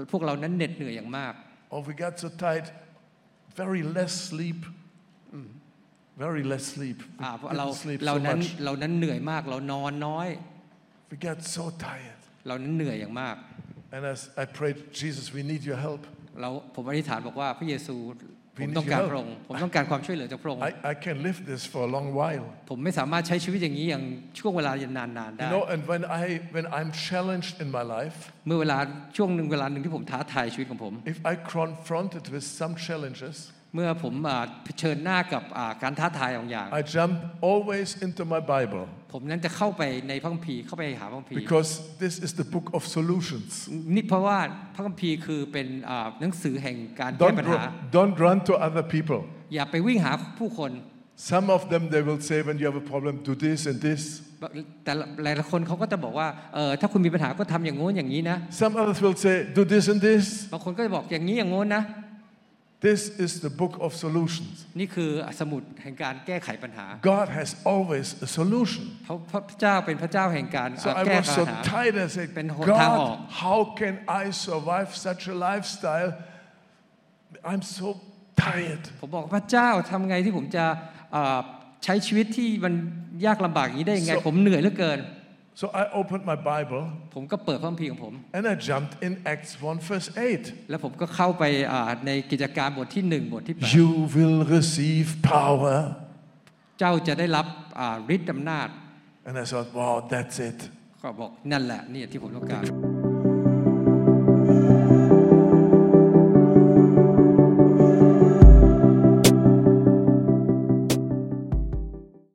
พวกเรานั้นเหน็ดเหนื่อยอย่างมาก Or we got so tired, very less sleep, very less sleep. เรานั้นเหนื่อยมากเรานอนน้อย We got so tired. เรานั้นเหนื่อยอย่างมาก And as I prayed, Jesus, we need your help. ผมอธิษฐานบอกว่าพระเยซูผมต้องการพระองค์ผมต้องการความช่วยเหลือจากพระองค์ I can live this for a long while. ผมไม่สามารถใช้ชีวิตอย่างนี้อย่างช่วงเวลานานๆได้ You know, and when I'm challenged in my life, เมื่อเวลาหนึ่งที่ผมท้าทายชีวิตของผม if I confronted with some challenges, เมื่อผมเผชิญหน้ากับการท้าทายบางอย่าง I jump always into my Bible. ผมนั้นจะเข้าไปในพระคัมภีร์เข้าไปหาพระคัมภีร์ Because this is the book of solutions. นี่เพราะว่าพระคัมภีร์คือเป็นหนังสือแห่งการแก้ปัญหา Don't run to other people. อย่าไปวิ่งหาผู้คน Some of them they will say when you have a problem do this and this. แต่หลายๆคนเขาก็จะบอกว่าถ้าคุณมีปัญหาก็ทำอย่างโน้นอย่างนี้นะ Some others will say do this and this. บางคนก็จะบอกอย่างนี้อย่างโน้นนะ This is the book of solutions. นี่คือสมุดแห่งการแก้ไขปัญหา God has always a solution. พระเจ้าเป็นพระเจ้าแห่งการ So I แก้ was ปัญ so หา tired. I said, เป็นหนทางออก God, how can I survive such a lifestyle? I'm so tired. ผมบอกพระเจ้าทำไงที่ผมจะใช้ชีวิตที่มันยากลำบากอย่างนี้ได้ยังไงผมเหนื่อยเหลือเกิน So I opened my Bible ผมก็เปิดพระคัมภีร์ของผม and I jumped in Acts 1 verse 8. แล้วผมก็เข้าไปในกิจการบทที่1บทที่8 You will receive power. เจ้าจะได้รับฤทธิ์อำนาจ And I thought, wow, that's it. ก็บอกนั่นแหละนี่ที่ผมต้องการ